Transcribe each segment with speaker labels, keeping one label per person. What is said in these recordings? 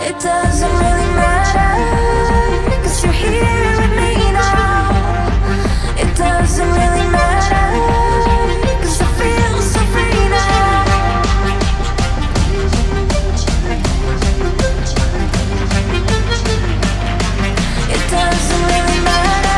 Speaker 1: It doesn't really matter, 'cause you're here with me now. It doesn't really matter, 'cause I feel so free now. It doesn't really matter.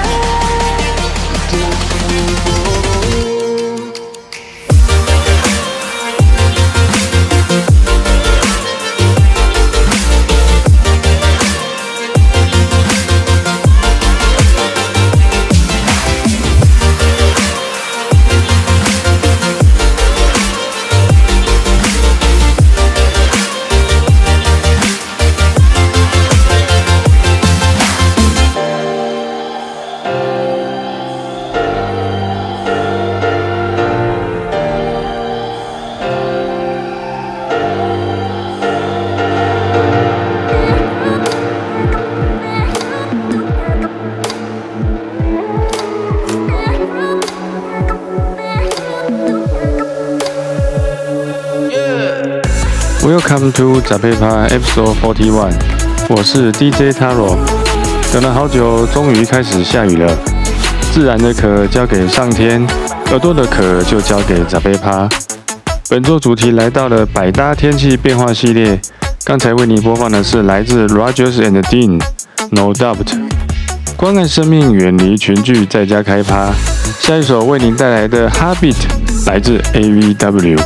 Speaker 2: Welcome to 杂配趴 Episode 41， 我是 DJ Taro。等了好久，终于开始下雨了。自然的壳交给上天，耳朵的壳就交给杂配趴。本周主题来到了百搭天气变化系列。刚才为你播放的是来自 Rogers and Dean，No Doubt。关爱生命，远离群聚，在家开趴。下一首为您带来的 Habit 来自 AVW。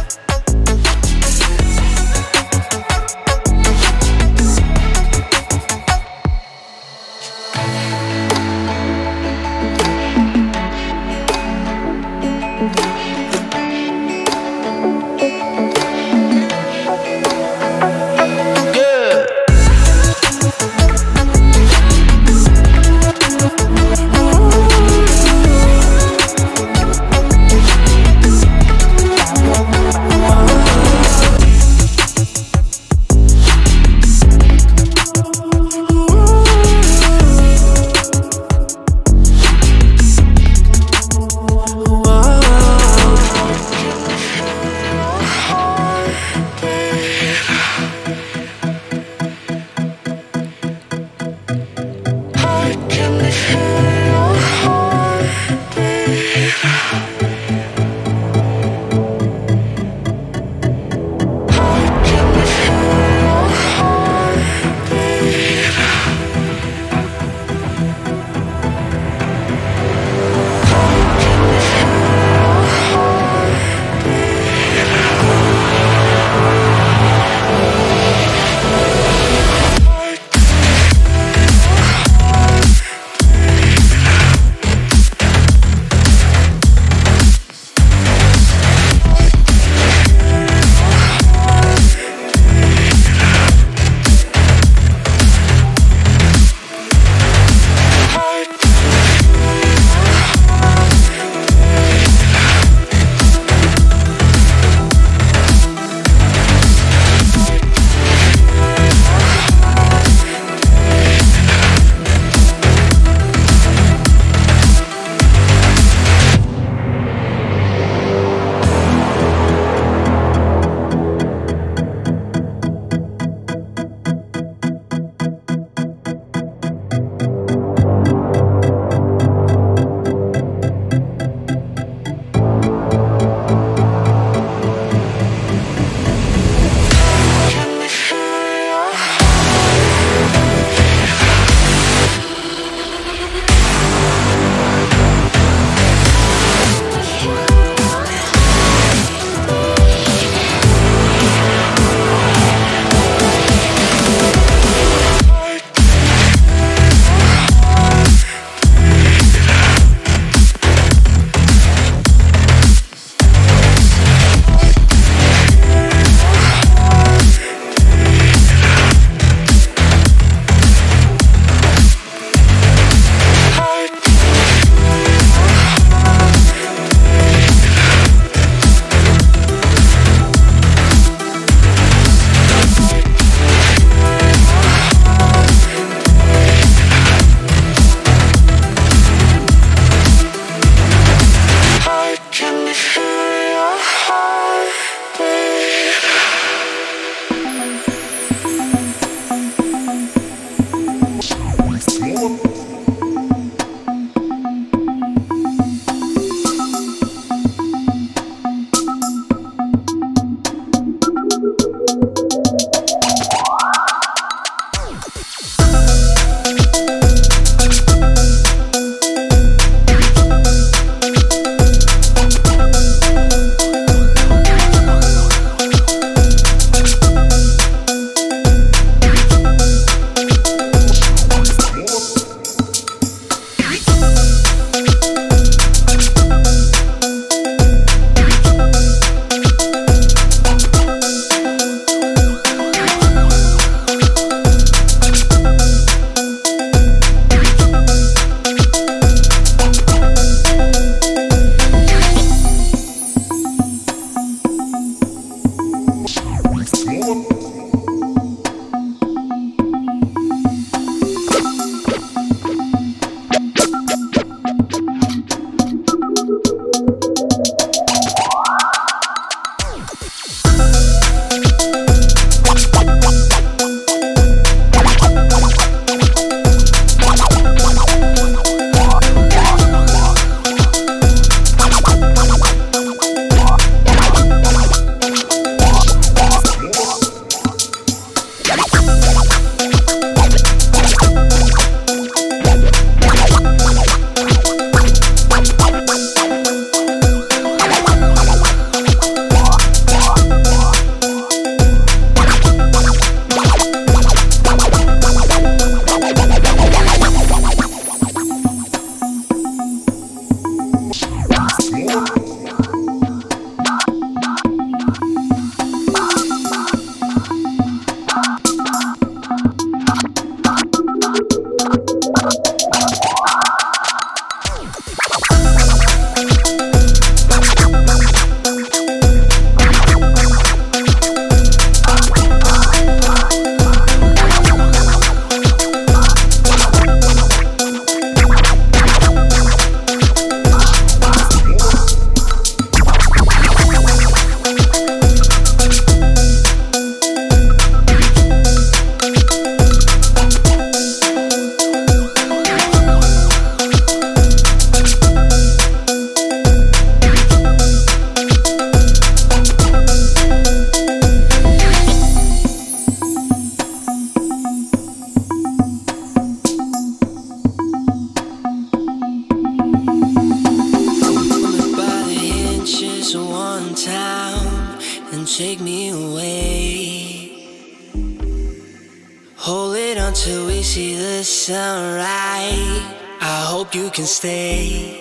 Speaker 3: it until we see the sunrise. I hope you can stay.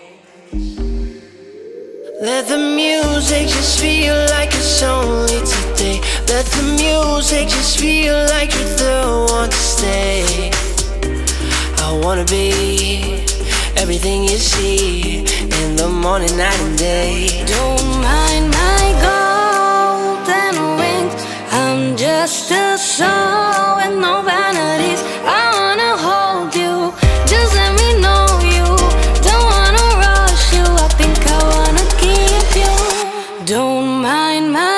Speaker 3: Let the music just feel like it's only today. Let the music just feel like you're the one to stay. I wanna be everything you see in the morning, night and day.
Speaker 1: Don't mind my golden wings. I'm just a soul with no vanities. I wanna hold you, just let me know you. Don't wanna rush you, I think I wanna keep you. Don't mind my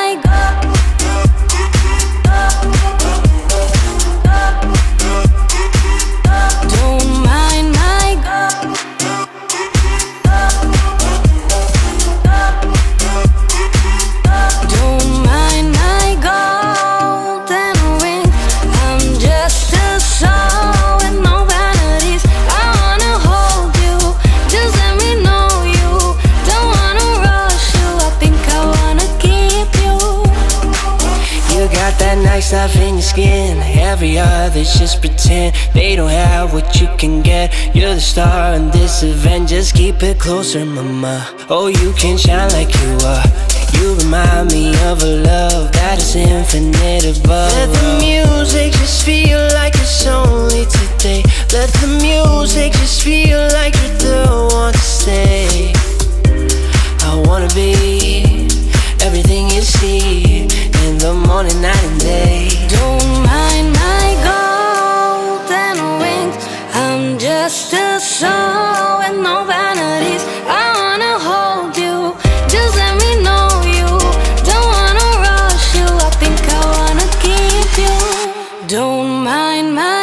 Speaker 3: stuff in your skin. Every other's just pretend. They don't have what you can get. You're the star in this event. Just keep it closer, mama. Oh, you can shine like you are. You remind me of a love that is infinite above. Let the music just feel like it's only today. Let the music just feel like you're the one to stay. I wanna be everything you see in the morning, night and day.
Speaker 1: Don't mind my golden wings. I'm just a soul with no vanities. I wanna hold you, just let me know you. Don't wanna rush you, I think I wanna keep you. Don't mind my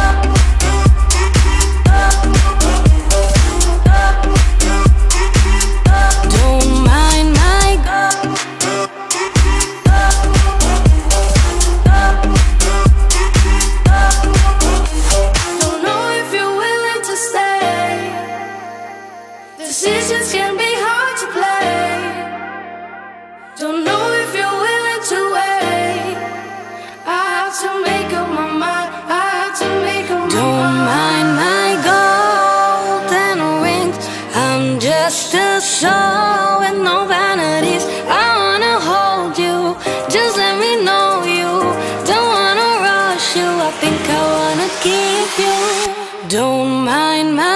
Speaker 1: decisions can be hard to play. Don't know if you're willing to wait. I have to make up my mind. I have to make up my mind. Don't mind my golden wings. I'm just a soul with no vanities. I wanna hold you, just let me know you. Don't wanna rush you, I think I wanna keep you. Don't mind my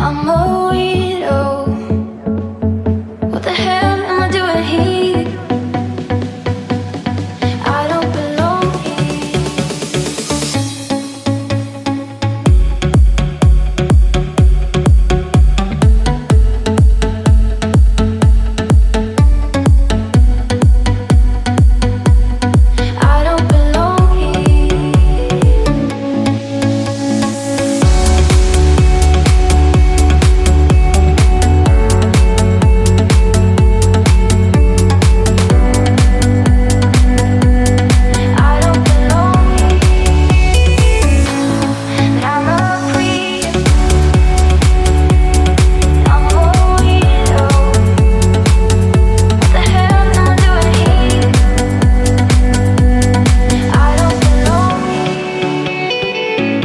Speaker 1: I'm a weirdo. What the hell am I doing here? I don't belong here. I don't belong here. I don't belong here. But I'm a creep. I'm a weirdo. What the hell am I doing here? I don't belong here.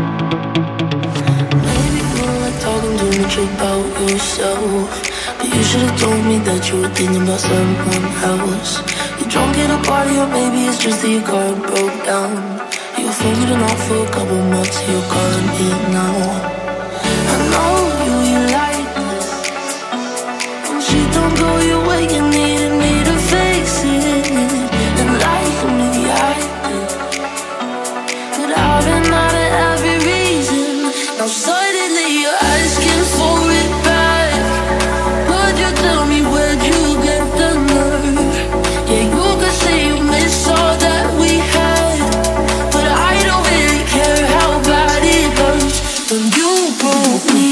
Speaker 3: Maybe you don't like talking too much about yourself, but you should've told me that you were thinking about someone else. You're drunk at a party, or maybe it's just that your car broke down. You were folding off for a couple months, you're calling it now. I know you like this. When shit don't go your way, you needed me to face it. And like me, I did. But I've been out of every reason. Now suddenly you're asking for it back. Would you tell me where'd you get the nerve? Yeah, you could say you miss all that we had, but I don't really care how bad it hurts when you broke me.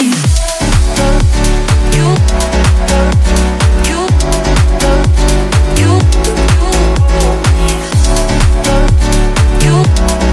Speaker 3: You, you, you, broke me. You,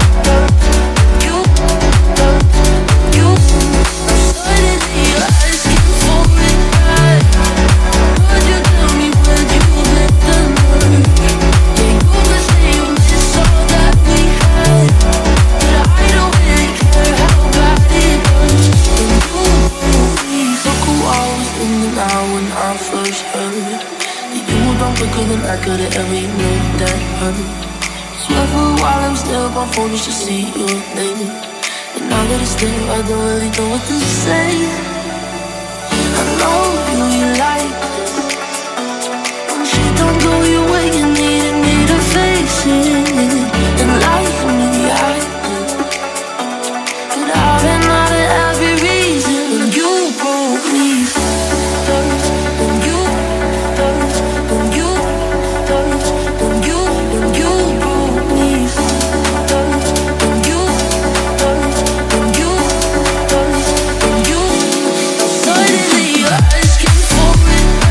Speaker 3: you, suddenly you're asking for it back. Would you tell me where'd you get the nerve? Yeah, you could say you miss all that we had, but I don't really care how bad it hurts when you broke me. Look who I was thinking now when I first heard that you were done quicker than I could've ever known that hurt. Swear for a while I'm still up on phone just to see your name, and now that it's there I don't really know what to say. I know you like this. When shit don't go your way, you needed me to face it. And like me, I did. But I've been out of every reason. When you broke me first, when you first, when you first, when you broke me first, when you first, when you first, when you suddenly you're asking for it.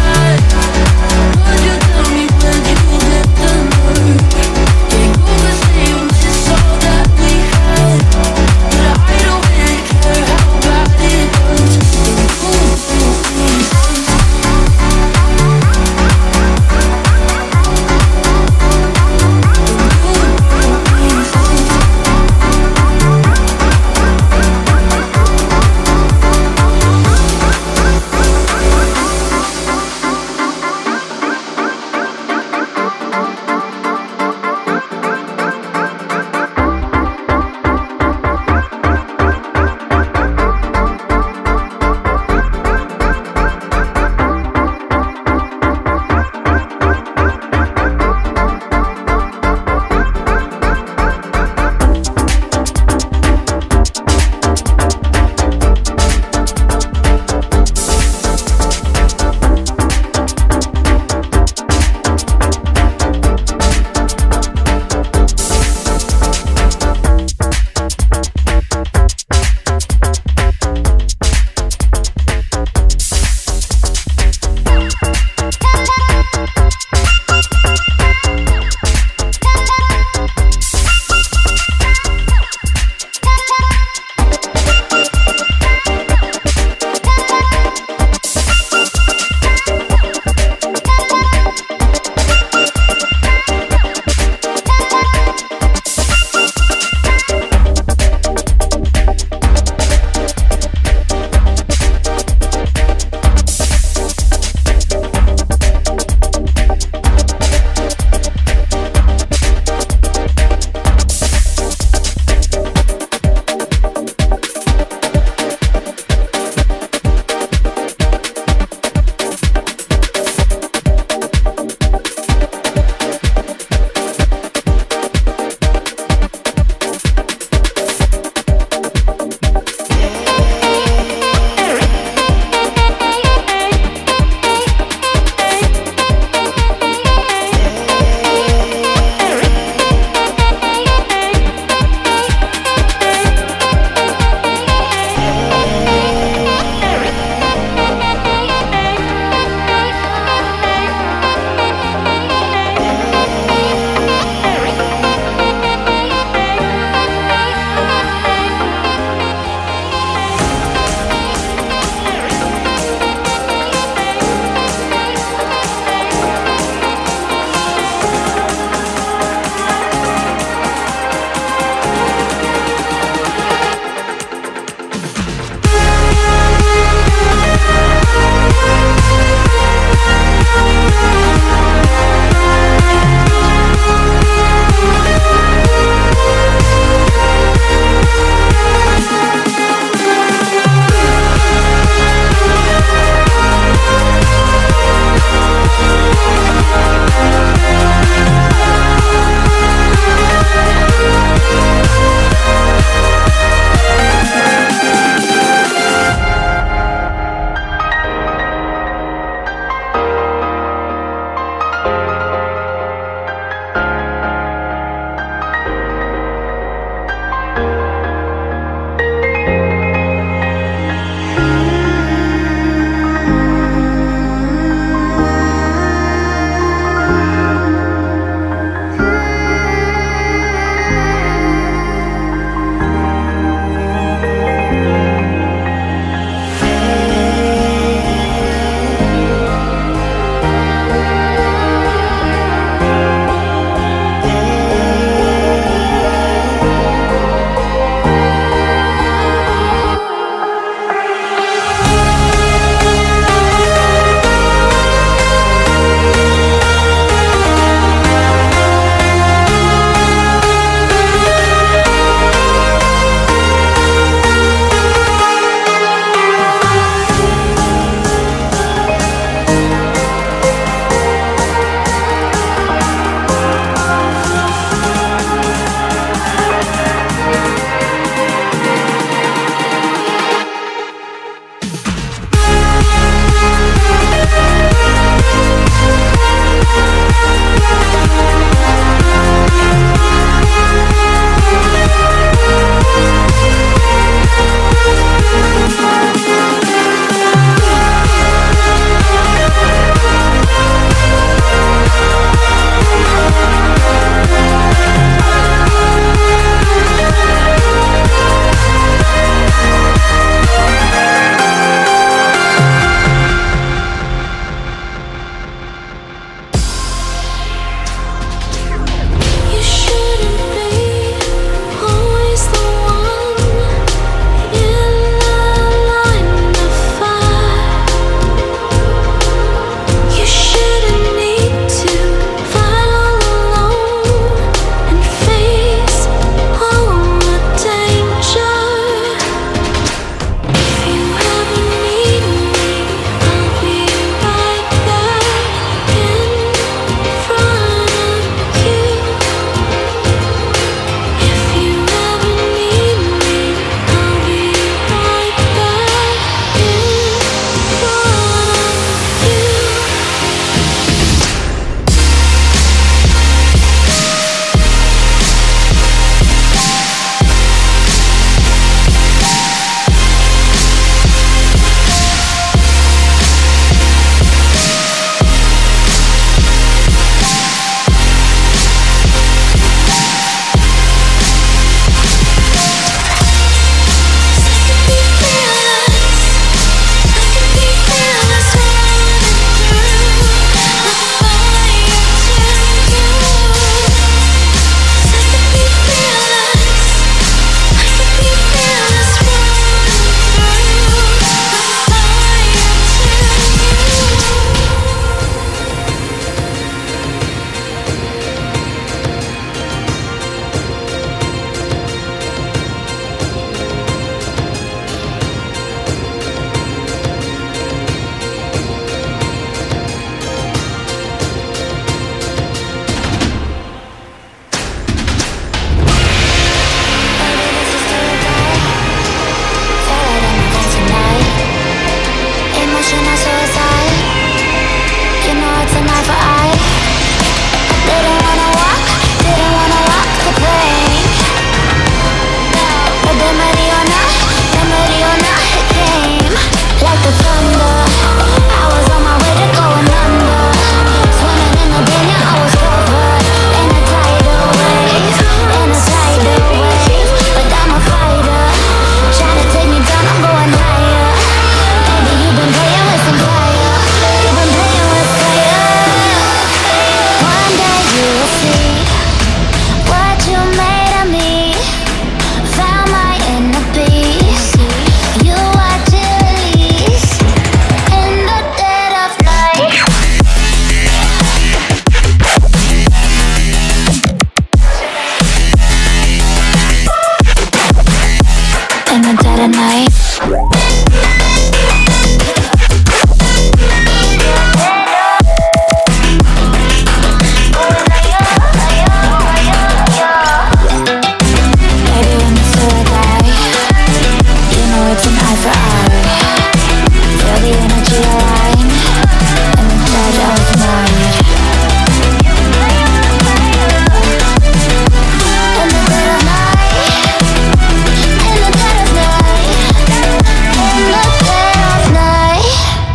Speaker 1: dead of night. Baby, when you say I die, you know it's an eye for eye. Feel the energy align, in the dead of night. In the dead of night, in the dead of night, in the dead of night.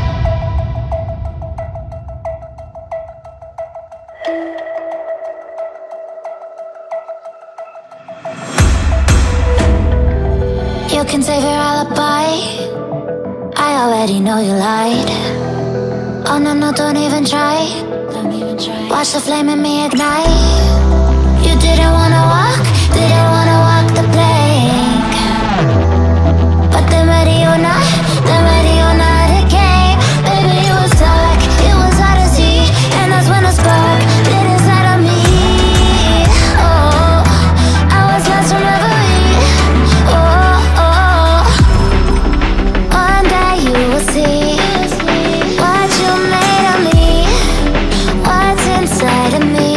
Speaker 1: You can save your alibi, I already know you lied. Oh no, no, don't even try. Watch the flame in me ignite. You didn't wanna walk the plank. But then ready or not, it came. Baby, it was dark, it was hard to see. And that's when a spark lit inside of me. Oh, I was lost from reverie. Oh, oh, one day you will see what you made of me, what's inside of me.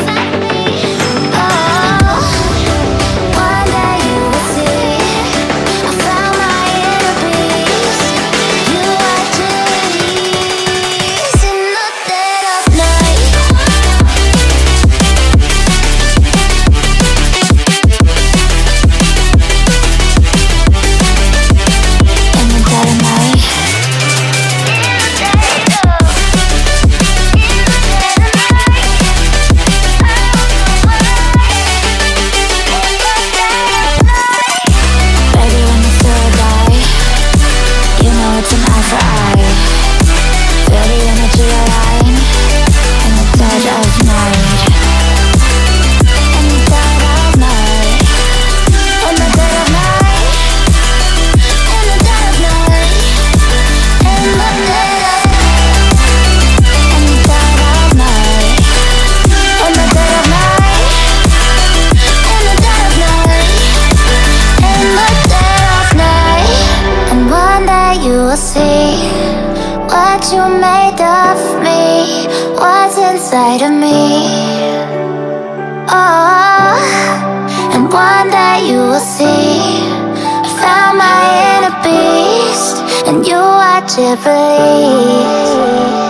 Speaker 1: Oh, one day you will see I found my inner peace. You are trees in the dead of night. In the dead of night. Baby, when you say I die, you know it's an eye for eye. Feel the energy align, in the dead of night. In the dead of night. In the dead of night. In the dead of night. In the dead of In the dead of night. In the dead of night. In the dead of night. In the dead of night. And one day you will see what you made of me, what's inside of me. Oh, and one day you will see I found my inner beast, and you watch it bleed.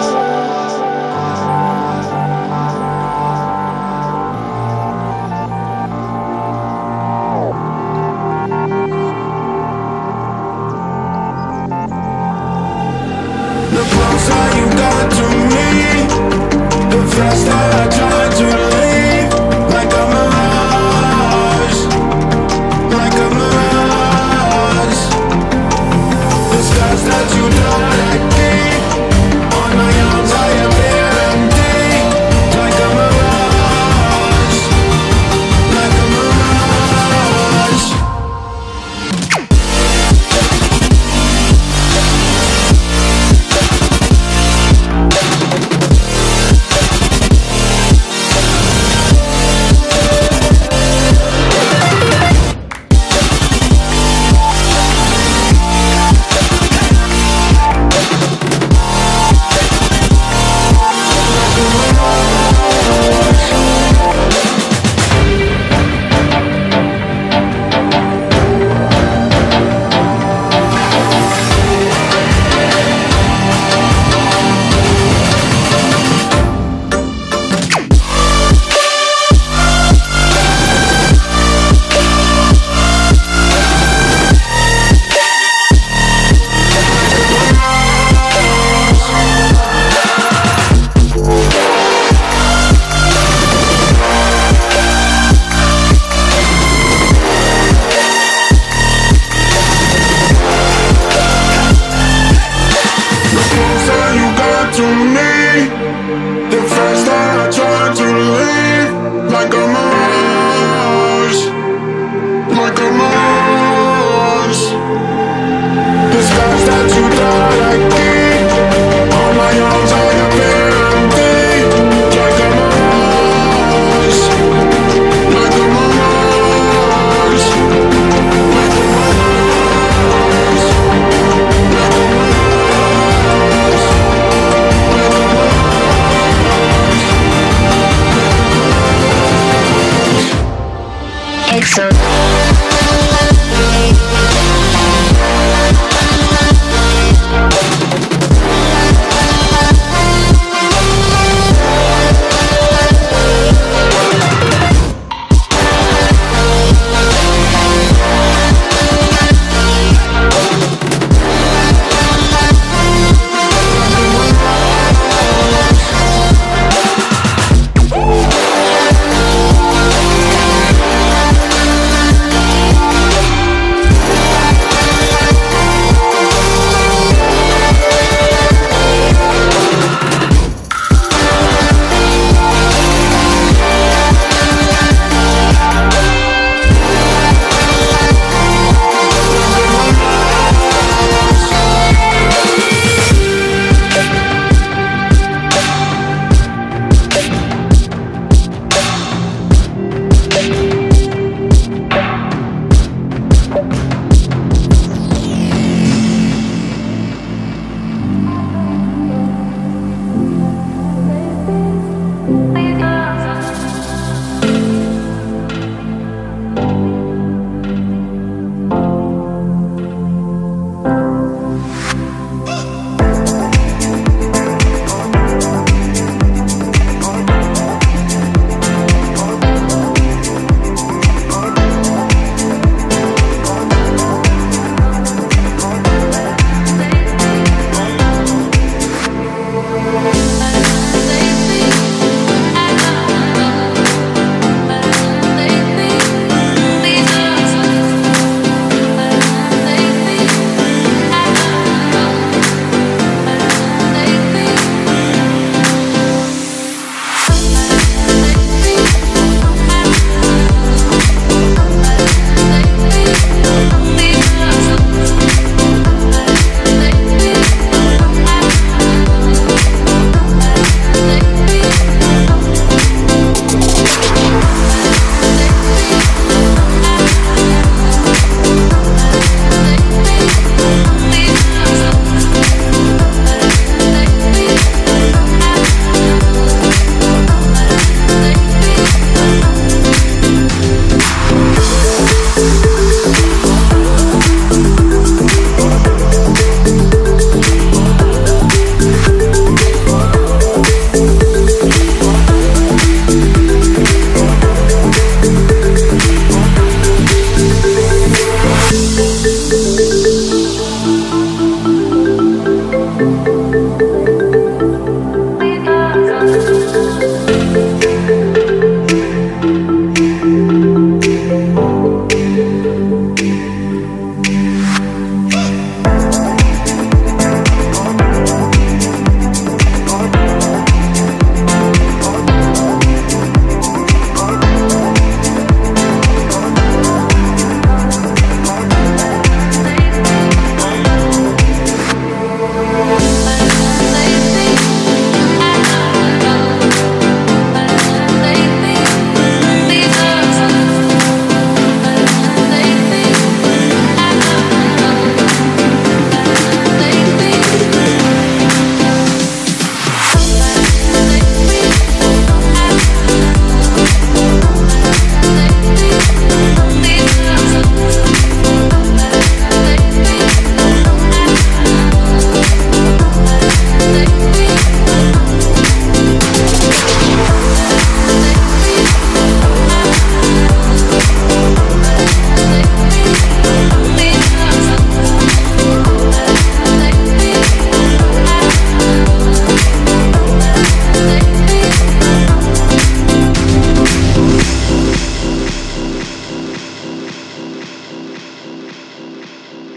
Speaker 4: The closer you got to me, the faster I try to leave. Like a mirage, like a mirage. The stars that you don't let me on my arms.
Speaker 1: make some